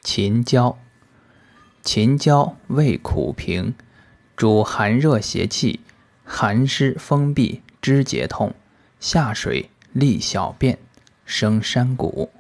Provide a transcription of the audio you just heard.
秦椒。秦椒味苦平，主寒热邪气，寒湿风痹，肢节痛，下水利小便，生山谷。